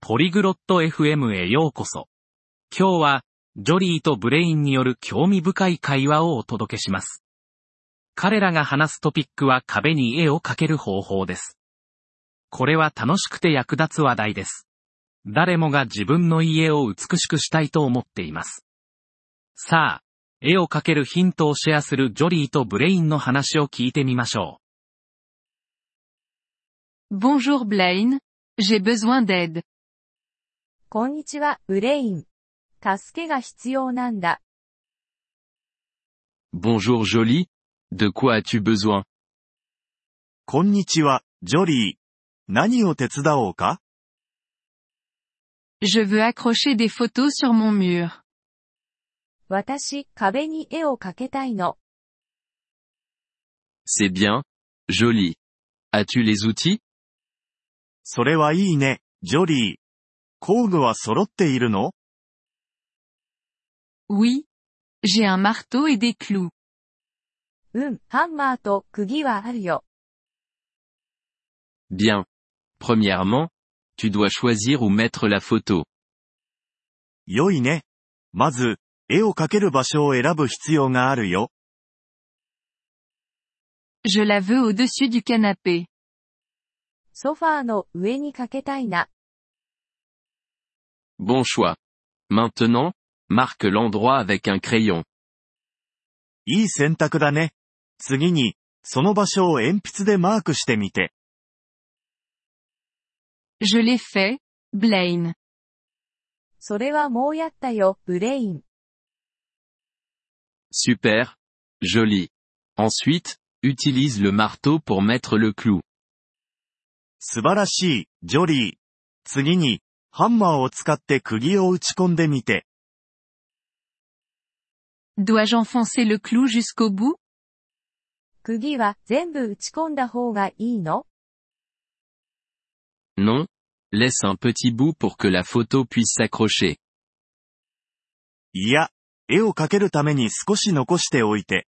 ポリグロット FM へようこそ。今日は、ジョリーとブレインによる興味深い会話をお届けします。彼らが話すトピックは壁に絵を描ける方法です。これは楽しくて役立つ話題です。誰もが自分の家を美しくしたいと思っています。さあ、絵を描けるヒントをシェアするジョリーとブレインの話を聞いてみましょう。Bonjour Blaine, j'ai besoin d'aide. こんにちは、ブレイン。助けが必要なんだ。 Bonjour Jolie, de quoi as-tu besoin? こんにちは、ジョリー。何を手伝おうか？ Je veux accrocher des photos sur mon mur. 私、壁に絵を描けたいの。 C'est bien, Jolie. As-tu les outils? それはいいね、ジョリー。工具は揃っているの？ Oui. J'ai un marteau et des clous. ハンマーと釘はあるよ。 Bien. Premièrement, tu dois choisir où mettre la photo. 良いね。まず、絵を描ける場所を選ぶ必要があるよ。 Je la veux au-dessus du canapé. ソファーの上に描けたいな。 Bon choix. Maintenant, marque l'endroit avec un crayon. いい選択だね。次に、その場所を鉛筆でマークしてみて。 Je l'ai fait, Blaine. それはもうやったよ、ブレイン。 Super. Joli. Ensuite, utilise le marteau pour mettre le clou. 素晴らしい、ジョリー。次に、ハンマーを使って釘を打ち込んでみて。 Dois-je enfoncer le clou jusqu'au bout? 釘は全部打ち込んだ方がいいの？ Non. Laisse un petit bout pour que la photo puisse s'accrocher. いや、絵を描けるために少し残しておいて。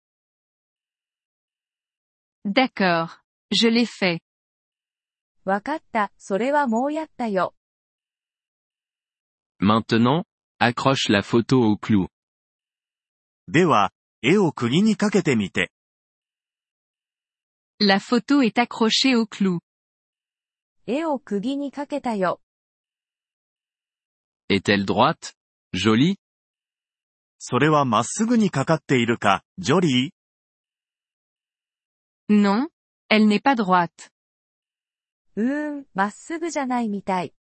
D'accord. Je l'ai fait. わかった、それはもうやったよ。 Maintenant, accroche la photo au clou. では、絵を釘にかけてみて。 La photo est accrochée au clou. 絵を釘にかけたよ。 Est-elle droite? Jolie? それはまっすぐにかかっているか、ジョリー？ Non, elle n'est pas droite. まっすぐじゃないみたい。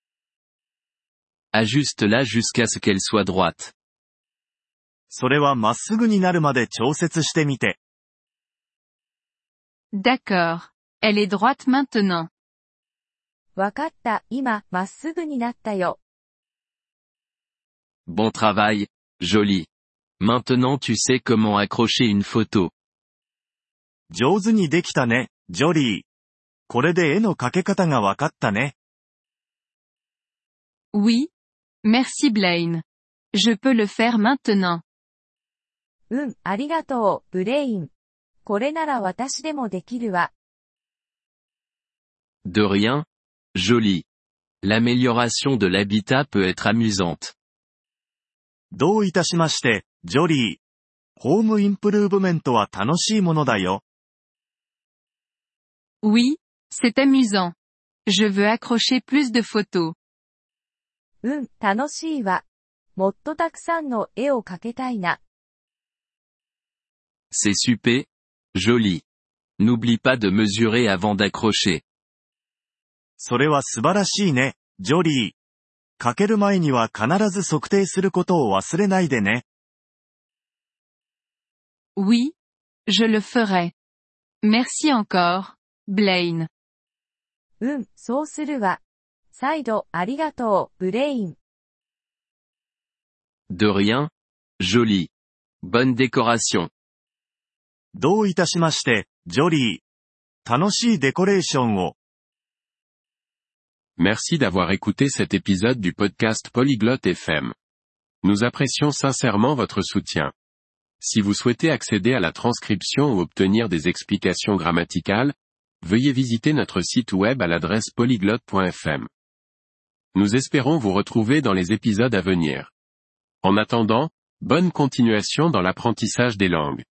Ajuste-la jusqu'à ce qu'elle soit droite. それはまっすぐになるまで調節してみて。 D'accord. Elle est droite maintenant. わかった、今、まっすぐになったよ。 Bon travail, Jolie. Maintenant tu sais comment accrocher une photo. 上手にできたね、ジョリー。これで絵の描け方がわかったね。 Oui. Merci Blaine. Je peux le faire maintenant. ありがとう、ブレイン。これなら私でもできるわ。 De rien, Jolie. L'amélioration de l'habitat peut être amusante. どういたしまして、ジョリー。ホームインプルーブメントは楽しいものだよ。 Oui, c'est amusant. Je veux accrocher plus de photos. 楽しいわ。もっとたくさんの絵を描けたいな。 C'est super. Jolie. N'oublie pas de mesurer avant d'accrocher. それは素晴らしいね、ジョリー。描ける前には必ず測定することを忘れないでね。 Oui, je le ferai. Merci encore, Blaine. そうするわ。再度ありがとう、ブレイン。 De rien, Jolie. Bonne décoration. どういたしまして、ジョリー。楽しいデコレーションを。 Merci d'avoir écouté cet épisode du podcast Polyglotte FM. Nous apprécions sincèrement votre soutien. Si vous souhaitez accéder à la transcription ou obtenir des explications grammaticales, veuillez visiter notre site web à l'adresse polyglotte.fm. Nous espérons vous retrouver dans les épisodes à venir. En attendant, bonne continuation dans l'apprentissage des langues.